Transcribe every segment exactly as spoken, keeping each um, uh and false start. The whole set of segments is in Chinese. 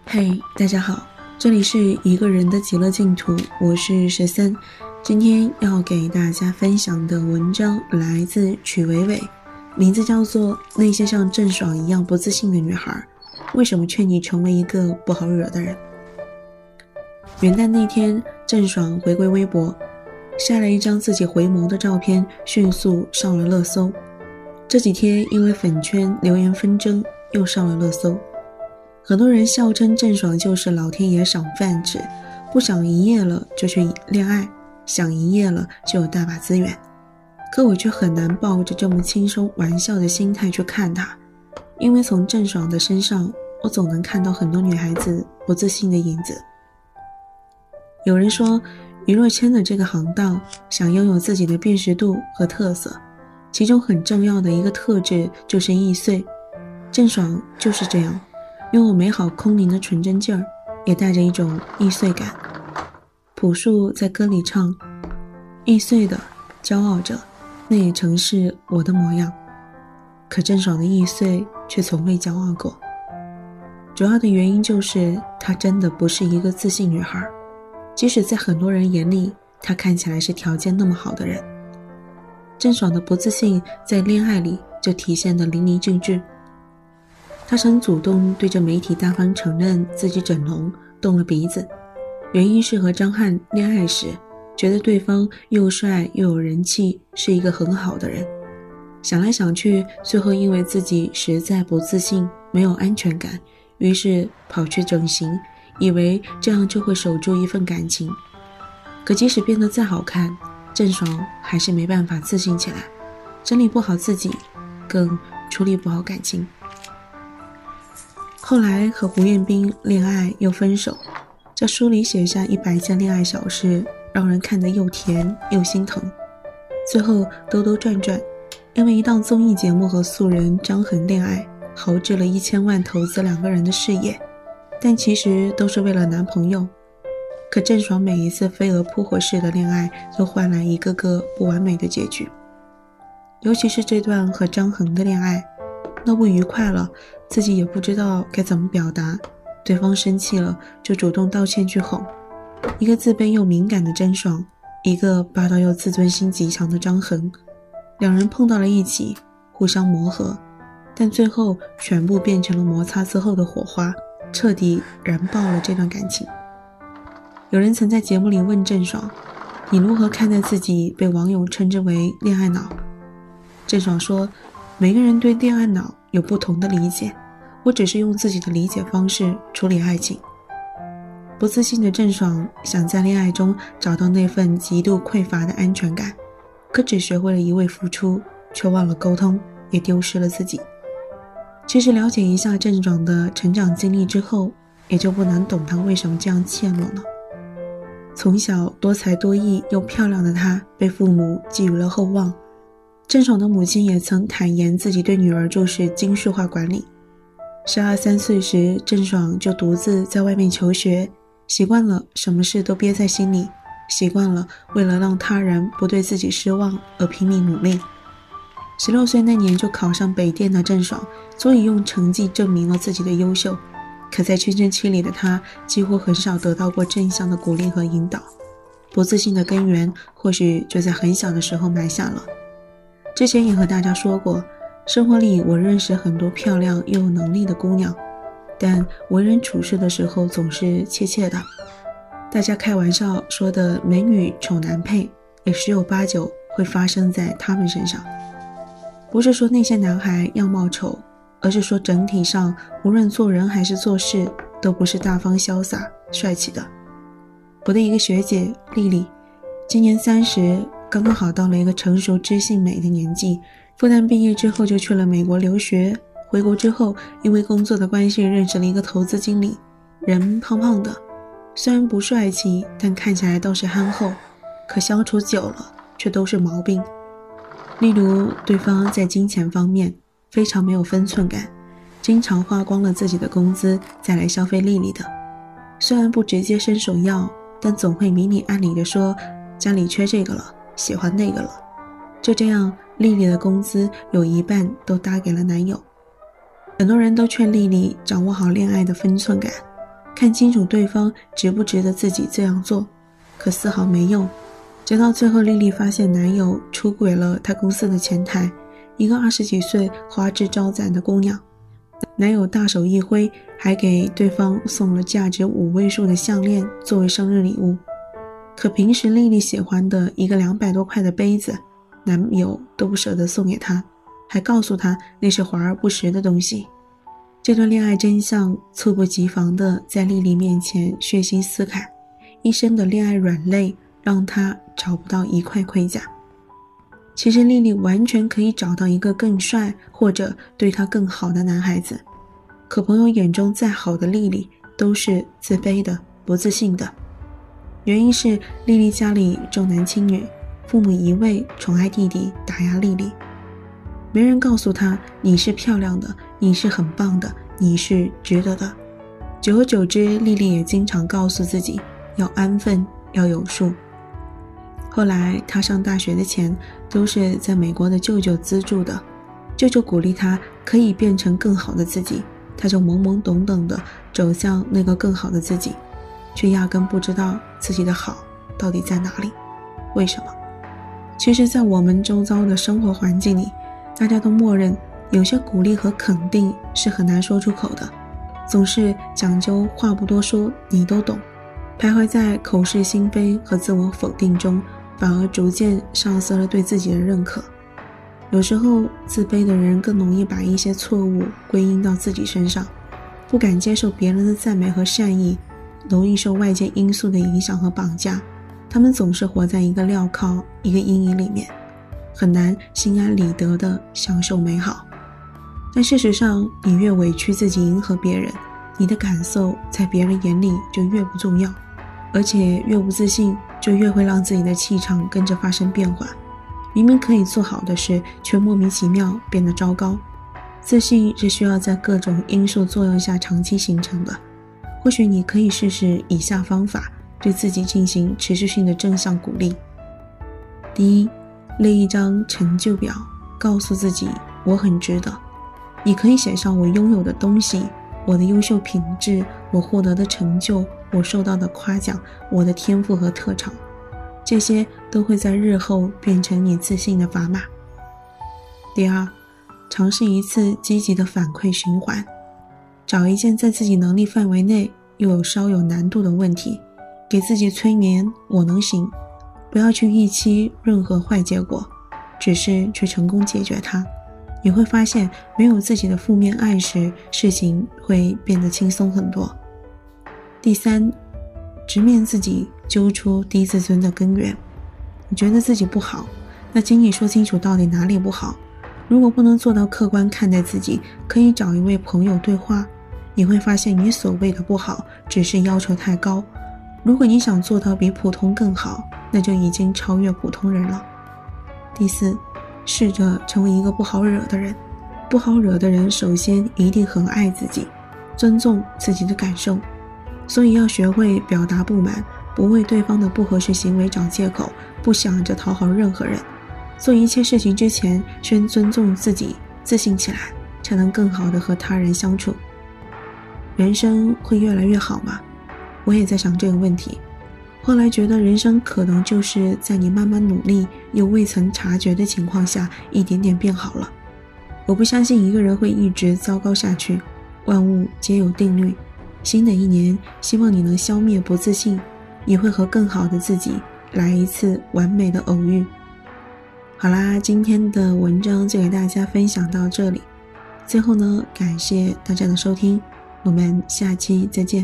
嘿，大家好，这里是一个人的极乐净土，我是十三。今天要给大家分享的文章来自曲伟伟，名字叫做《那些像郑爽一样不自信的女孩，为什么劝你成为一个不好惹的人》。元旦那天，郑爽回归微博，晒了一张自己回眸的照片，迅速上了热搜。这几天因为粉圈留言纷争，又上了热搜。很多人笑称郑爽就是老天爷赏饭吃，不想一夜了就去恋爱，想一夜了就有大把资源。可我却很难抱着这么轻松玩笑的心态去看她，因为从郑爽的身上，我总能看到很多女孩子不自信的影子。有人说，娱乐圈的这个行当，想拥有自己的辨识度和特色，其中很重要的一个特质就是易碎。郑爽就是这样，拥有美好空灵的纯真劲儿，也带着一种易碎感。朴树在歌里唱，易碎的骄傲着，那也曾是我的模样。可郑爽的易碎却从未骄傲过，主要的原因就是她真的不是一个自信女孩，即使在很多人眼里，她看起来是条件那么好的人。郑爽的不自信在恋爱里就体现得淋漓尽致。她曾主动对着媒体大方承认自己整容动了鼻子，原因是和张翰恋爱时觉得对方又帅又有人气，是一个很好的人。想来想去，最后因为自己实在不自信，没有安全感，于是跑去整形，以为这样就会守住一份感情。可即使变得再好看，郑爽还是没办法自信起来，整理不好自己，更处理不好感情。后来和胡彦斌恋爱又分手，在书里写下一百件恋爱小事，让人看得又甜又心疼。最后兜兜转转，因为一档综艺节目和素人张恒恋爱，豪掷了一千万投资两个人的事业，但其实都是为了男朋友。可郑爽每一次飞蛾扑火式的恋爱，都换来一个个不完美的结局。尤其是这段和张恒的恋爱，闹不愉快了，自己也不知道该怎么表达，对方生气了就主动道歉去哄。一个自卑又敏感的郑爽，一个霸道又自尊心极强的张恒，两人碰到了一起，互相磨合，但最后全部变成了摩擦之后的火花，彻底燃爆了这段感情。有人曾在节目里问郑爽，你如何看待自己被网友称之为恋爱脑？郑爽说，每个人对恋爱脑有不同的理解，我只是用自己的理解方式处理爱情。不自信的郑爽想在恋爱中找到那份极度匮乏的安全感，可只学会了一味付出，却忘了沟通，也丢失了自己。其实了解一下郑爽的成长经历之后，也就不难懂她为什么这样怯懦了。从小多才多艺又漂亮的她，被父母寄予了厚望。郑爽的母亲也曾坦言自己对女儿就是精细化管理。十二三岁时，郑爽就独自在外面求学，习惯了什么事都憋在心里，习惯了为了让他人不对自己失望而拼命努力。十六岁那年就考上北电的郑爽，足以用成绩证明了自己的优秀。可在青春期里的她，几乎很少得到过正向的鼓励和引导，不自信的根源或许就在很小的时候埋下了。之前也和大家说过，生活里我认识很多漂亮又有能力的姑娘，但为人处事的时候总是怯怯的。大家开玩笑说的美女丑男配，也十有八九会发生在他们身上。不是说那些男孩样貌丑，而是说整体上无论做人还是做事，都不是大方潇洒帅气的。我的一个学姐丽丽，今年三十，刚刚好到了一个成熟知性美的年纪，复旦毕业之后就去了美国留学。回国之后，因为工作的关系认识了一个投资经理，人胖胖的，虽然不帅气，但看起来倒是憨厚，可相处久了却都是毛病。例如对方在金钱方面非常没有分寸感，经常花光了自己的工资再来消费丽丽的，虽然不直接伸手要，但总会明里暗里的说家里缺这个了，喜欢那个了。就这样，丽丽的工资有一半都搭给了男友。很多人都劝丽丽掌握好恋爱的分寸感， 看清楚对方值不值得自己这样做，可丝毫没用。直到最后，丽丽发现男友出轨了她公司的前台，一个二十几岁花枝招展的姑娘。男友大手一挥，还给对方送了价值五位数的项链作为生日礼物。可平时丽丽喜欢的一个两百多块的杯子，男友都不舍得送给她，还告诉她那是华而不实的东西。这段恋爱真相猝不及防地在丽丽面前血腥撕开，一身的恋爱软肋让她找不到一块盔甲。其实丽丽完全可以找到一个更帅或者对她更好的男孩子，可朋友眼中再好的丽丽都是自卑的、不自信的。原因是丽丽家里重男轻女，父母一味宠爱弟弟，打压丽丽。没人告诉她你是漂亮的，你是很棒的，你是值得的。久而久之，丽丽也经常告诉自己要安分，要有数。后来她上大学的钱都是在美国的舅舅资助的，舅舅鼓励她可以变成更好的自己，她就懵懵懂懂地走向那个更好的自己，却压根不知道自己的好到底在哪里。为什么？其实在我们周遭的生活环境里，大家都默认有些鼓励和肯定是很难说出口的，总是讲究话不多说，你都懂，徘徊在口是心非和自我否定中，反而逐渐丧失了对自己的认可。有时候自卑的人更容易把一些错误归因到自己身上，不敢接受别人的赞美和善意，容易受外界因素的影响和绑架。他们总是活在一个镣铐、一个阴影里面，很难心安理得地享受美好。但事实上，你越委屈自己迎合别人，你的感受在别人眼里就越不重要，而且越不自信，就越会让自己的气场跟着发生变化。明明可以做好的事，却莫名其妙变得糟糕。自信是需要在各种因素作用下长期形成的。或许你可以试试以下方法，对自己进行持续性的正向鼓励。第一，列一张成就表，告诉自己我很值得。你可以写上我拥有的东西，我的优秀品质，我获得的成就，我受到的夸奖，我的天赋和特长，这些都会在日后变成你自信的砝码。第二，尝试一次积极的反馈循环，找一件在自己能力范围内又有稍有难度的问题，给自己催眠我能行，不要去预期任何坏结果，只是去成功解决它。你会发现没有自己的负面暗示，事情会变得轻松很多。第三，直面自己，揪出低自尊的根源。你觉得自己不好，那请你说清楚到底哪里不好。如果不能做到客观看待自己，可以找一位朋友对话，你会发现你所谓的不好只是要求太高。如果你想做到比普通更好，那就已经超越普通人了。第四，试着成为一个不好惹的人。不好惹的人首先一定很爱自己，尊重自己的感受，所以要学会表达不满，不为对方的不合适行为找借口，不想着讨好任何人。做一切事情之前，先尊重自己，自信起来，才能更好地和他人相处。人生会越来越好吗？我也在想这个问题。后来觉得人生可能就是在你慢慢努力又未曾察觉的情况下，一点点变好了。我不相信一个人会一直糟糕下去，万物皆有定律。新的一年，希望你能消灭不自信，也会和更好的自己来一次完美的偶遇。好啦，今天的文章就给大家分享到这里。最后呢，感谢大家的收听，我们下期再见。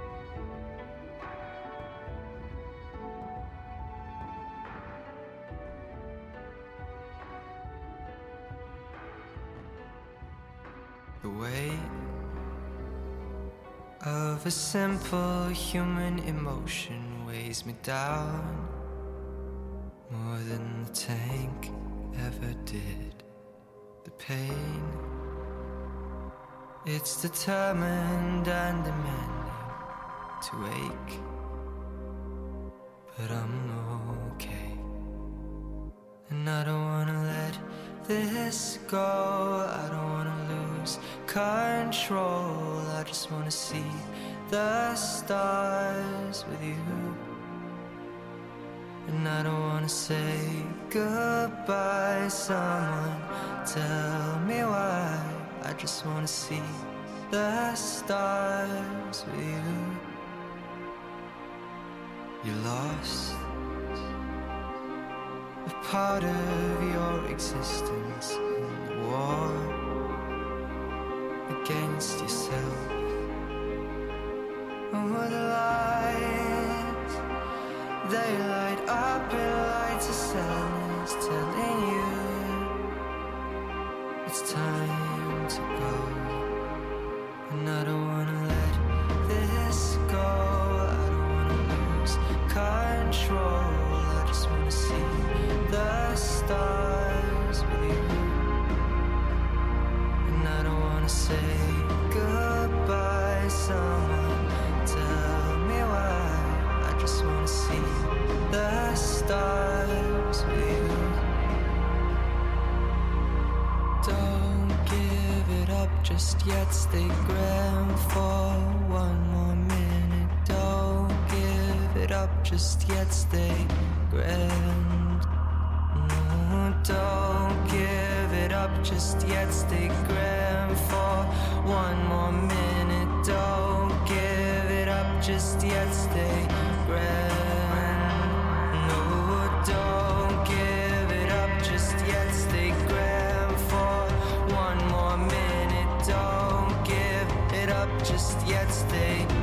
The weight of a simple human emotion weighs me down more than the tank ever did. The pain, it's determined and demanding to ache, but I'm okay, and I don't wanna let this go. I don't wanna lose control. I just wanna see the stars with you. And I don't wanna say goodbye. Someone tell me why. I just wanna see the stars with you. You're lost, a part of your existence in the war against yourself. Oh, the lights, they light up in lights of sadness, telling you it's time to go. And I don't wanna let this go. I don't wanna lose control. I just wanna see the stars with you. And I don't wanna say goodbye. Someone tell me why. I just wanna see the stars with you. Don't give it up just yet. Stay grand for one more minute. Don't give it up just yet. Stay grand. No, don't give it up just yet. Stay grand for one more minute. Don't give it up just yet. Stay grand. No, don't give it up just yet. Stay grand for one more minute. Don't give it up just yet. Stay